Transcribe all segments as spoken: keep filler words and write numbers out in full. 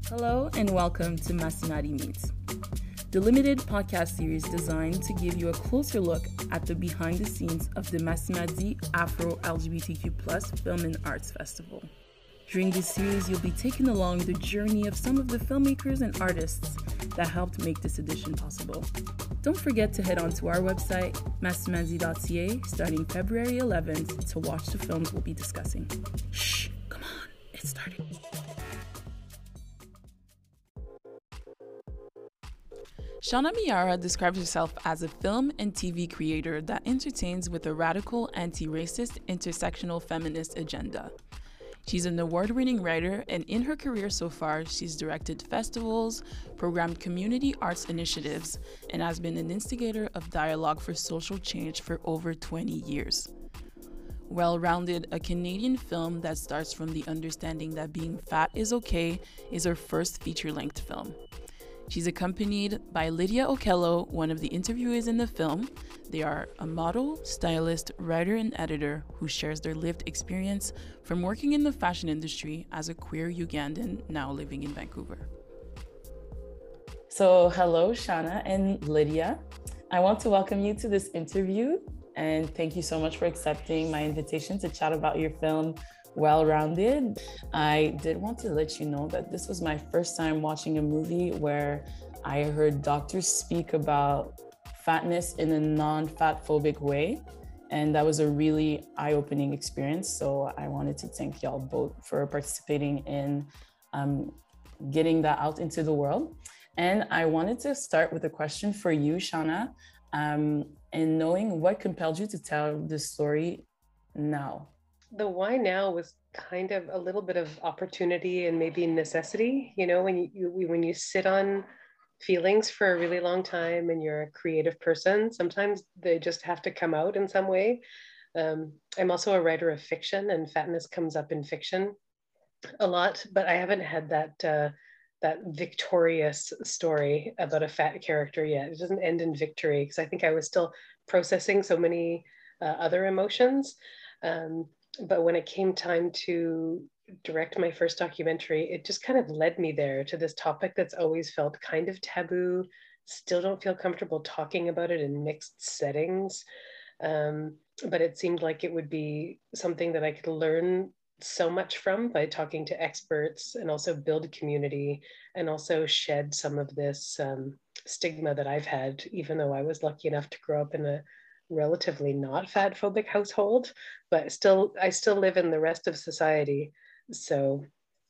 Hello and welcome to Masinati Meets, the limited podcast series designed to give you a closer look at the behind the scenes of the Masinati Afro L G B T Q plus Film and Arts Festival. During this series, you'll be taken along the journey of some of the filmmakers and artists that helped make this edition possible. Don't forget to head on to our website, masinati dot c a, starting February eleventh to watch the films we'll be discussing. Shh, come on, it's starting. Shauna Miara describes herself as a film and T V creator that entertains with a radical, anti-racist, intersectional feminist agenda. She's an award-winning writer, and in her career so far, she's directed festivals, programmed community arts initiatives, and has been an instigator of dialogue for social change for over twenty years. Well-Rounded, a Canadian film that starts from the understanding that being fat is okay, is her first feature-length film. She's accompanied by Lydia Okello, one of the interviewees in the film. They are a model, stylist, writer, and editor who shares their lived experience from working in the fashion industry as a queer Ugandan now living in Vancouver. So hello, Shauna and Lydia. I want to welcome you to this interview and thank you so much for accepting my invitation to chat about your film, Well-Rounded. I did want to let you know that this was my first time watching a movie where I heard doctors speak about fatness in a non-fat phobic way. And that was a really eye-opening experience. So I wanted to thank y'all both for participating in um, getting that out into the world. And I wanted to start with a question for you, Shauna, um, and knowing what compelled you to tell this story now. The why now was kind of a little bit of opportunity and maybe necessity. You know, when you, you when you sit on feelings for a really long time and you're a creative person, sometimes they just have to come out in some way. Um, I'm also a writer of fiction, and fatness comes up in fiction a lot, but I haven't had that uh, that victorious story about a fat character yet. It doesn't end in victory because I think I was still processing so many uh, other emotions. Um, But when it came time to direct my first documentary, it just kind of led me there to this topic that's always felt kind of taboo. Still don't feel comfortable talking about it in mixed settings. Um, but it seemed like it would be something that I could learn so much from by talking to experts and also build community and also shed some of this um, stigma that I've had, even though I was lucky enough to grow up in a relatively not fat phobic household, but still, I still live in the rest of society. So,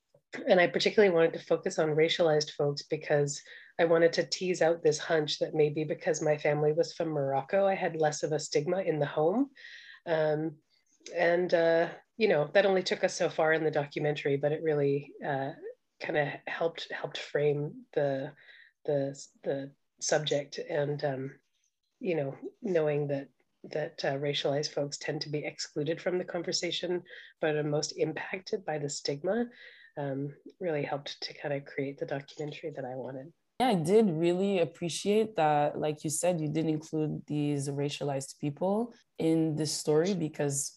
and I particularly wanted to focus on racialized folks because I wanted to tease out this hunch that maybe because my family was from Morocco, I had less of a stigma in the home. Um, and, uh, you know, that only took us so far in the documentary, but it really uh, kind of helped, helped frame the, the, the subject. And, um, you know, knowing that that uh, racialized folks tend to be excluded from the conversation, but are most impacted by the stigma, um, really helped to kind of create the documentary that I wanted. Yeah, I did really appreciate that, like you said, you did include these racialized people in this story because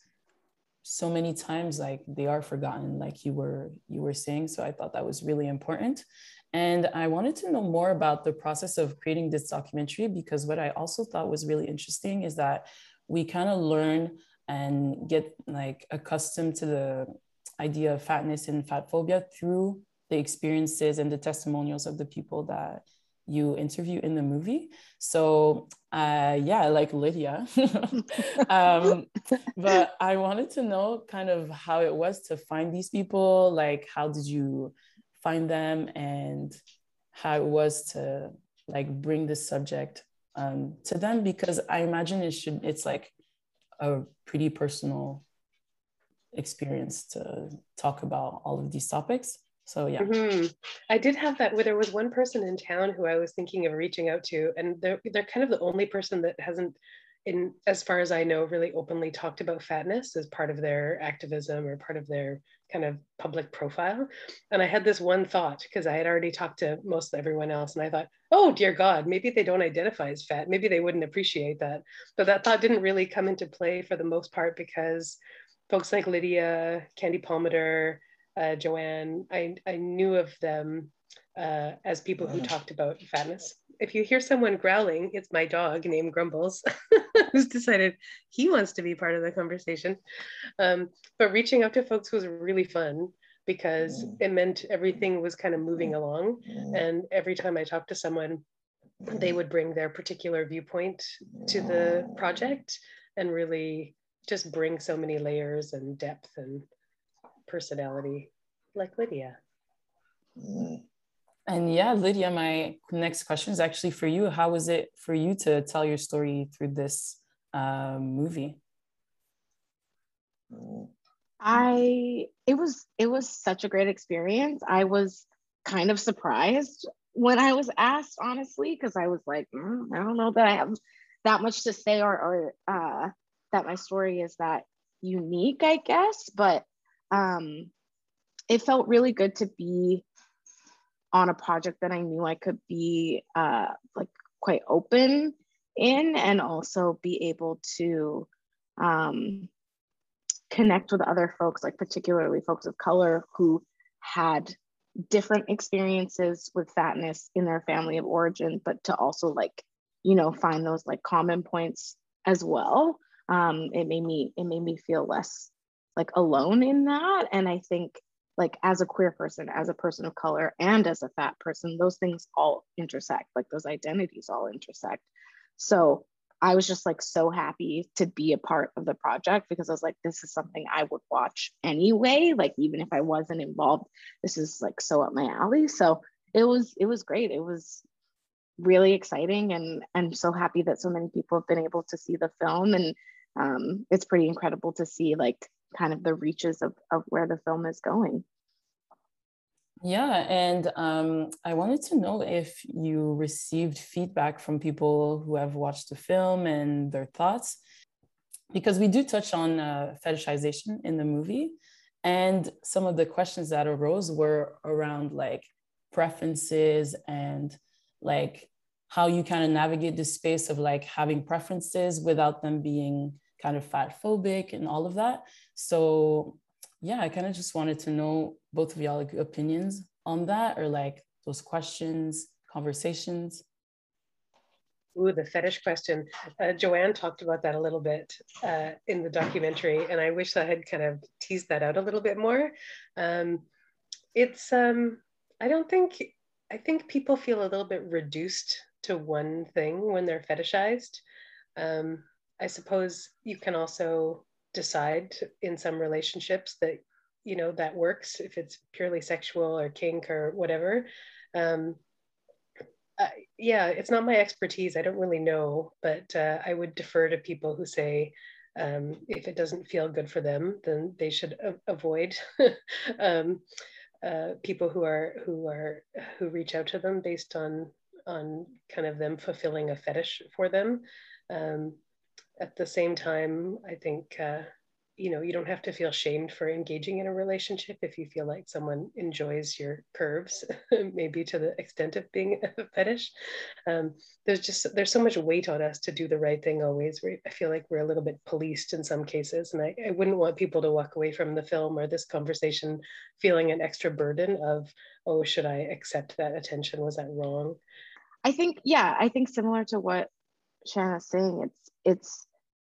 so many times, like, they are forgotten, like you were you were saying. So I thought that was really important. And I wanted to know more about the process of creating this documentary, because what I also thought was really interesting is that we kind of learn and get like accustomed to the idea of fatness and fat phobia through the experiences and the testimonials of the people that you interview in the movie. So uh, yeah, like Lydia. um, but I wanted to know kind of how it was to find these people. Like, how did you find them, and how it was to like bring this subject um, to them? Because I imagine it should, it's like a pretty personal experience to talk about all of these topics. So yeah. Mm-hmm. I did have that where there was one person in town who I was thinking of reaching out to, and they're, they're kind of the only person that hasn't, in as far as I know, really openly talked about fatness as part of their activism or part of their kind of public profile. And I had this one thought, because I had already talked to most everyone else, and I thought, oh dear God, maybe they don't identify as fat. Maybe they wouldn't appreciate that. But that thought didn't really come into play for the most part, because folks like Lydia, Candy Palmater, uh, Joanne, I, I knew of them uh, as people who talked about fatness. If you hear someone growling, it's my dog named Grumbles, who's decided he wants to be part of the conversation. Um, but reaching out to folks was really fun because it meant everything was kind of moving along. And every time I talked to someone, they would bring their particular viewpoint to the project and really just bring so many layers and depth and personality, like Lydia. And yeah, Lydia, my next question is actually for you. How was it for you to tell your story through this uh, movie? I it was it was such a great experience. I was kind of surprised when I was asked, honestly, because I was like, mm, I don't know that I have that much to say, or or uh, that my story is that unique, I guess. But um, it felt really good to be on a project that I knew I could be uh, like quite open in, and also be able to um, connect with other folks, like particularly folks of color who had different experiences with fatness in their family of origin, but to also like, you know, find those like common points as well. Um, it made me, it made me feel less like alone in that. And I think like as a queer person, as a person of color, and as a fat person, those things all intersect, like those identities all intersect. So I was just like so happy to be a part of the project, because I was like, this is something I would watch anyway. Like, even if I wasn't involved, this is like so up my alley. So it was, it was great. It was really exciting, and I'm so happy that so many people have been able to see the film. And um, it's pretty incredible to see like kind of the reaches of, of where the film is going. Yeah, and um, I wanted to know if you received feedback from people who have watched the film and their thoughts, because we do touch on uh, fetishization in the movie, and some of the questions that arose were around like preferences and like how you kind of navigate the space of like having preferences without them being kind of fat phobic and all of that. So yeah, I kind of just wanted to know both of y'all like, opinions on that, or like those questions, conversations. Ooh, the fetish question. Uh, Joanne talked about that a little bit uh, in the documentary, and I wish I had kind of teased that out a little bit more. Um, it's, um, I don't think, I think people feel a little bit reduced to one thing when they're fetishized. Um, I suppose you can also decide in some relationships that, you know, that works if it's purely sexual or kink or whatever. Um, uh, yeah, it's not my expertise. I don't really know, but uh, I would defer to people who say um, if it doesn't feel good for them, then they should a- avoid um, uh, people who are who are who reach out to them based on on kind of them fulfilling a fetish for them. Um, at the same time, I think, uh, you know, you don't have to feel shamed for engaging in a relationship if you feel like someone enjoys your curves, maybe to the extent of being a fetish. Um, there's just, there's so much weight on us to do the right thing always. We, I feel like we're a little bit policed in some cases. And I, I wouldn't want people to walk away from the film or this conversation feeling an extra burden of, oh, should I accept that attention? Was that wrong? I think, yeah, I think similar to what Shanna's saying, it's, it's,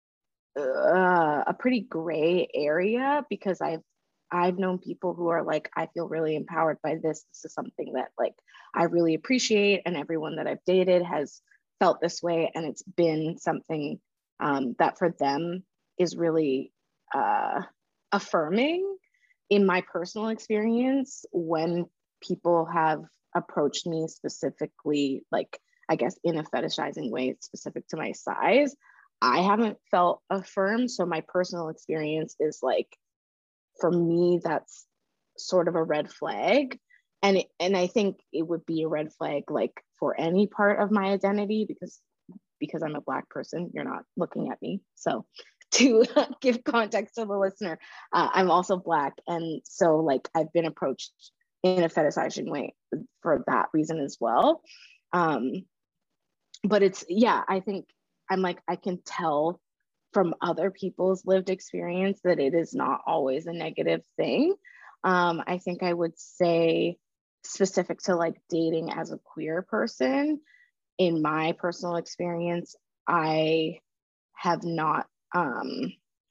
Uh, a pretty gray area, because I've I've known people who are like, I feel really empowered by this. This is something that like I really appreciate, and everyone that I've dated has felt this way, and it's been something um, that for them is really uh, affirming. In my personal experience, when people have approached me specifically, like I guess in a fetishizing way specific to my size, I haven't felt affirmed. So my personal experience is like, for me, that's sort of a red flag. And, it, and I think it would be a red flag like for any part of my identity, because, because I'm a Black person, you're not looking at me. So to give context to the listener, uh, I'm also Black. And so like, I've been approached in a fetishizing way for that reason as well. Um, but it's, yeah, I think I'm like, I can tell from other people's lived experience that it is not always a negative thing. Um, I think I would say specific to like dating as a queer person, in my personal experience, I have not um,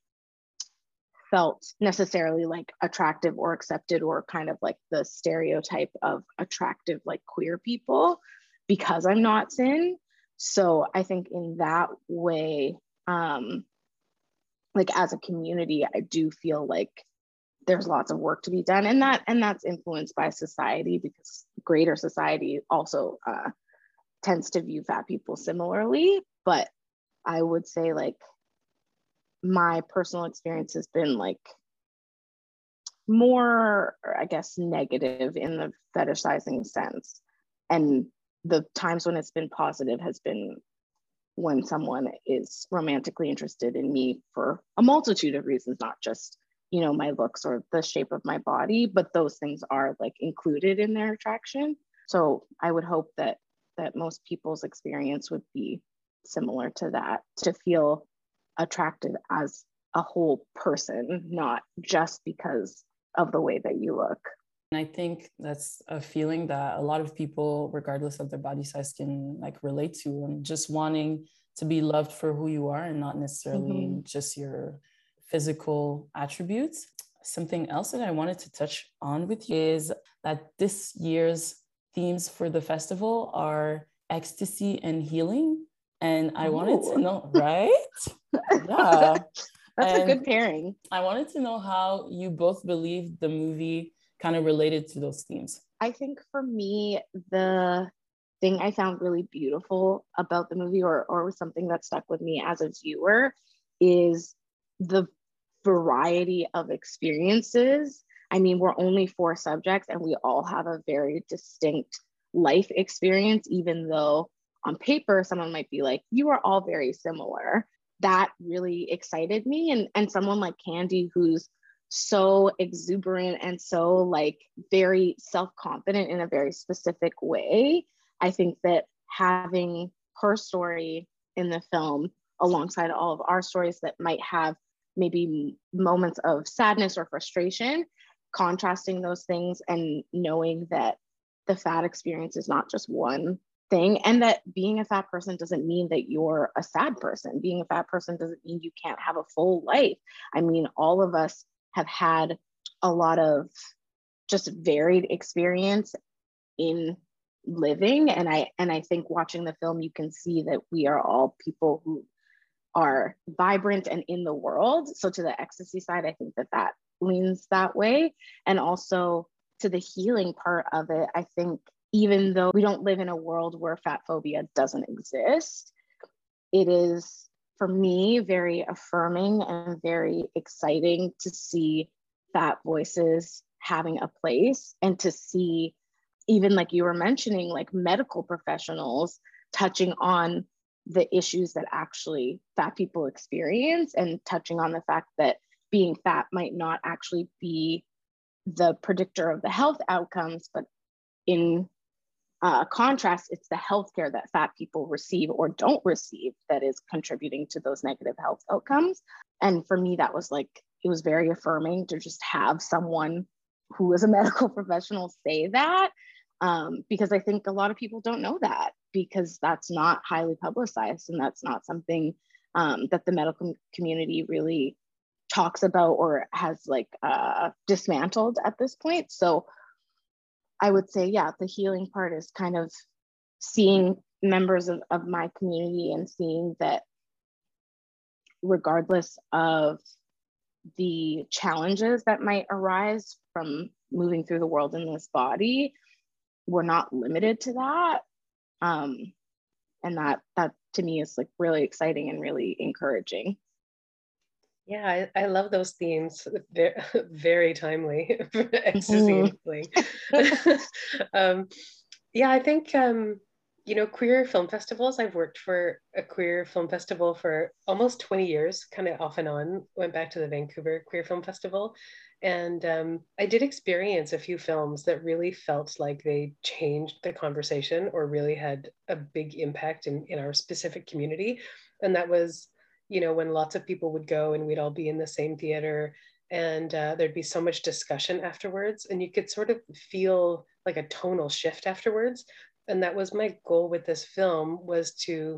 felt necessarily like attractive or accepted or kind of like the stereotype of attractive like queer people because I'm not cis. So I think in that way, um, like as a community, I do feel like there's lots of work to be done, and that and that's influenced by society, because greater society also uh, tends to view fat people similarly. But I would say like my personal experience has been like more, I guess, negative in the fetishizing sense. And the times when it's been positive has been when someone is romantically interested in me for a multitude of reasons, not just, you know, my looks or the shape of my body, but those things are like included in their attraction. So I would hope that that most people's experience would be similar to that, to feel attracted as a whole person, not just because of the way that you look. And I think that's a feeling that a lot of people, regardless of their body size, can like relate to, and just wanting to be loved for who you are and not necessarily mm-hmm. just your physical attributes. Something else that I wanted to touch on with you is that this year's themes for the festival are ecstasy and healing. And I Ooh. wanted to know, right? Yeah. That's and a good pairing. I wanted to know how you both believe the movie kind of related to those themes. I think for me, the thing I found really beautiful about the movie, or, or something that stuck with me as a viewer, is the variety of experiences. I mean, we're only four subjects and we all have a very distinct life experience, even though on paper, someone might be like, you are all very similar. That really excited me. And, and someone like Candy, who's so exuberant and so like very self-confident in a very specific way, I think that having her story in the film alongside all of our stories that might have maybe moments of sadness or frustration, contrasting those things and knowing that the fat experience is not just one thing, and that being a fat person doesn't mean that you're a sad person. Being a fat person doesn't mean you can't have a full life. I mean, all of us have had a lot of just varied experience in living, and I and I think watching the film, you can see that we are all people who are vibrant and in the world. So to the ecstasy side, I think that that leans that way. And also to the healing part of it, I think even though we don't live in a world where fat phobia doesn't exist, it is, for me, very affirming and very exciting to see fat voices having a place, and to see, even like you were mentioning, like medical professionals touching on the issues that actually fat people experience, and touching on the fact that being fat might not actually be the predictor of the health outcomes, but in uh, contrast, it's the healthcare that fat people receive or don't receive that is contributing to those negative health outcomes. And for me, that was like, it was very affirming to just have someone who is a medical professional say that, um, because I think a lot of people don't know that, because that's not highly publicized, and that's not something um, that the medical community really talks about or has like uh, dismantled at this point. So I would say, yeah, the healing part is kind of seeing members of, of my community and seeing that regardless of the challenges that might arise from moving through the world in this body, we're not limited to that. Um, and that, that to me is like really exciting and really encouraging. Yeah, I, I love those themes. They're very timely for ecstasy and healing. um, yeah, I think, um, you know, queer film festivals, I've worked for a queer film festival for almost twenty years, kind of off and on, went back to the Vancouver Queer Film Festival. And um, I did experience a few films that really felt like they changed the conversation or really had a big impact in, in our specific community. And that was, you know, when lots of people would go and we'd all be in the same theater and uh, there'd be so much discussion afterwards, and you could sort of feel like a tonal shift afterwards. And that was my goal with this film, was to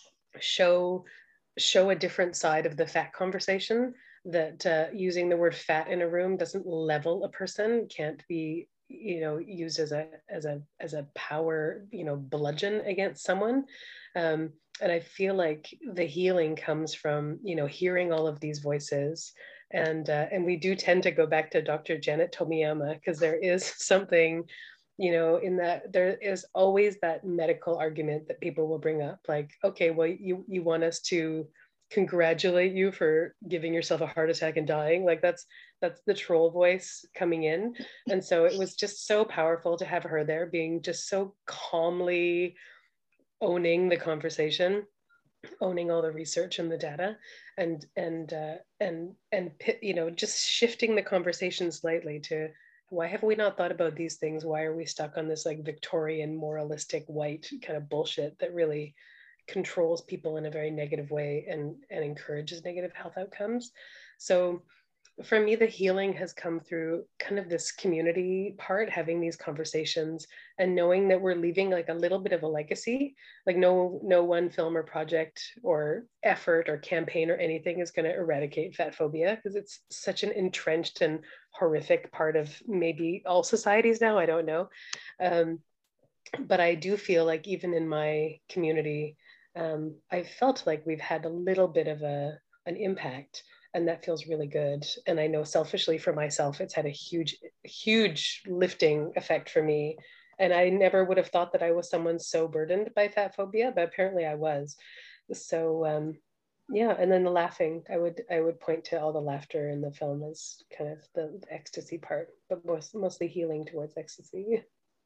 show show a different side of the fat conversation, that uh, using the word fat in a room doesn't level a person, can't be, you know, used as a as a as a power, you know, bludgeon against someone. Um, and I feel like the healing comes from, you know, hearing all of these voices. And uh, and we do tend to go back to Doctor Janet Tomiyama, because there is something, you know, in that there is always that medical argument that people will bring up, like, okay, well, you you want us to congratulate you for giving yourself a heart attack and dying, like that's that's the troll voice coming in. And so it was just so powerful to have her there, being just so calmly owning the conversation, owning all the research and the data, and and uh, and and you know, just shifting the conversation slightly to, why have we not thought about these things? Why are we stuck on this like Victorian moralistic white kind of bullshit that really controls people in a very negative way, and and encourages negative health outcomes? So for me, the healing has come through kind of this community part, having these conversations and knowing that we're leaving like a little bit of a legacy. Like no, no one film or project or effort or campaign or anything is going to eradicate fat phobia, because it's such an entrenched and horrific part of maybe all societies now, I don't know. Um, but I do feel like even in my community, um, I felt like we've had a little bit of a, an impact. And that feels really good. And I know selfishly for myself, it's had a huge, huge lifting effect for me. And I never would have thought that I was someone so burdened by fat phobia, but apparently I was. So um, yeah, and then the laughing, I would I would point to all the laughter in the film as kind of the, the ecstasy part, but most, mostly healing towards ecstasy.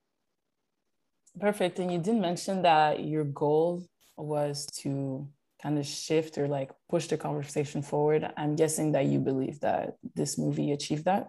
Perfect. And you did mention that your goal was to kind of shift or like push the conversation forward. I'm guessing that you believe that this movie achieved that?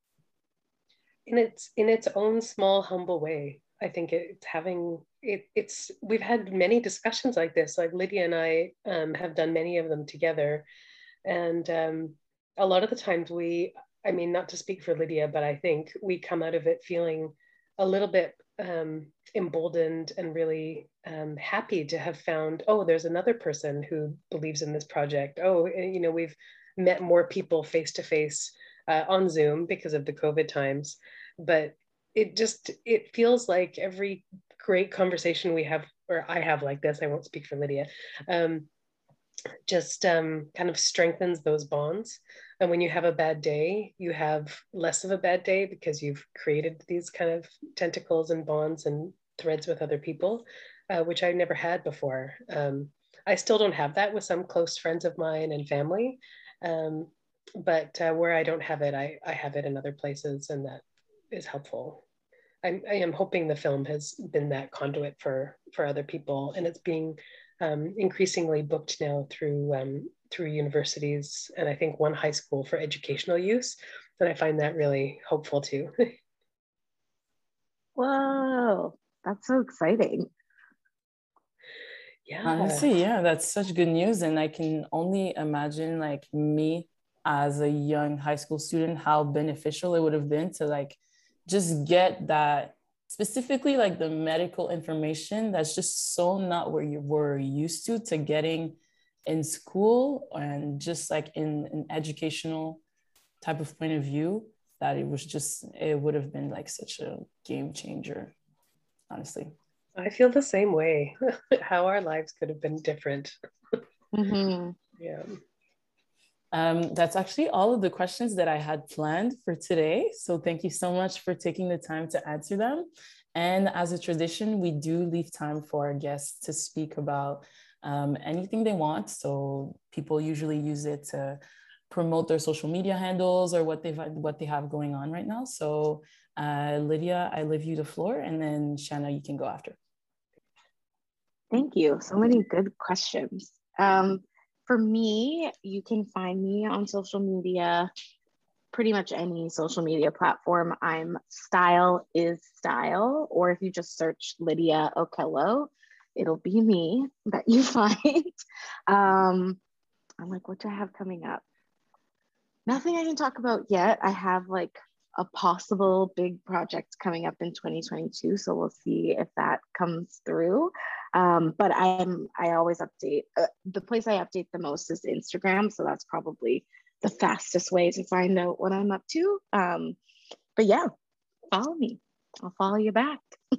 In its in its own small, humble way. I think it's having it it's we've had many discussions like this. Like Lydia and I um, have done many of them together. And um, a lot of the times we, I mean, not to speak for Lydia, but I think we come out of it feeling a little bit um, emboldened and really um, happy to have found, oh, there's another person who believes in this project. Oh, you know, we've met more people face to face on Zoom because of the COVID times. But it just, it feels like every great conversation we have, or I have like this, I won't speak for Lydia, um, just um, kind of strengthens those bonds. And when you have a bad day, you have less of a bad day because you've created these kind of tentacles and bonds and threads with other people, uh, which I never had before. Um, I still don't have that with some close friends of mine and family. Um, but uh, where I don't have it, I, I have it in other places, and that is helpful. I'm, I am hoping the film has been that conduit for, for other people, and it's being um, increasingly booked now through um, through universities, and I think one high school for educational use. And I find that really hopeful too. Whoa, that's so exciting. Yeah. Honestly, yeah, that's such good news. And I can only imagine like me as a young high school student, how beneficial it would have been to like just get that, specifically like the medical information that's just so not where you were used to, to getting in school and just like in an educational type of point of view, that it was just, it would have been like such a game changer, honestly. I feel the same way. How our lives could have been different. Mm-hmm. Yeah. Um, that's actually all of the questions that I had planned for today. So thank you so much for taking the time to answer them. And as a tradition, we do leave time for our guests to speak about um, anything they want. So people usually use it to promote their social media handles or what they've what they have going on right now. So uh, Lydia, I leave you the floor, and then Shanna, you can go after. Thank you. So many good questions. Um, for me, you can find me on social media, pretty much any social media platform. I'm Style is Style, or if you just search Lydia Okello, it'll be me that you find. Um, I'm like, what do I have coming up? Nothing I can talk about yet. I have like a possible big project coming up in twenty twenty-two, so we'll see if that comes through. Um, but I'm I always update. Uh, the place I update the most is Instagram, so that's probably the fastest way to find out what I'm up to. Um, but yeah, follow me. I'll follow you back.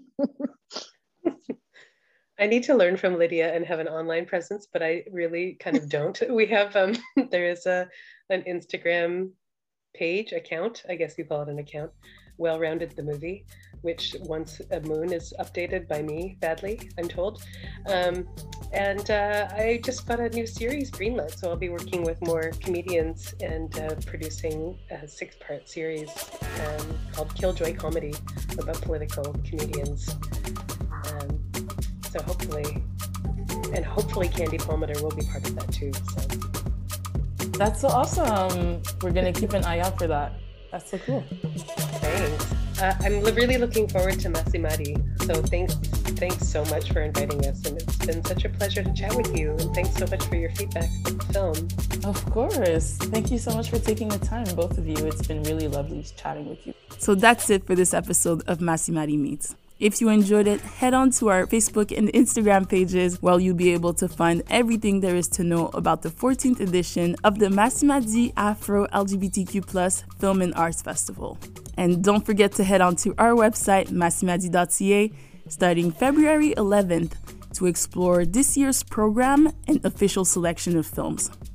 I need to learn from Lydia and have an online presence, but I really kind of don't. We have, um, there is a an Instagram page, account, I guess you call it an account, Well Rounded the Movie, which once a moon is updated by me badly, I'm told. Um, and uh, I just got a new series greenlit, so I'll be working with more comedians and uh, producing a six-part series um, called Killjoy Comedy about political comedians. Um, so hopefully, and hopefully Candy Palmater will be part of that too. So. That's so awesome. We're gonna keep an eye out for that. That's so cool. Thanks. Uh, I'm really looking forward to Masimari. So thanks, thanks so much for inviting us, and it's been such a pleasure to chat with you. And thanks so much for your feedback on the film. Of course. Thank you so much for taking the time, both of you. It's been really lovely chatting with you. So that's it for this episode of Masimari Meets. If you enjoyed it, head on to our Facebook and Instagram pages where you'll be able to find everything there is to know about the fourteenth edition of the Masimadi Afro L G B T Q plus Film and Arts Festival. And don't forget to head on to our website, masimadi dot c a, starting February eleventh to explore this year's program and official selection of films.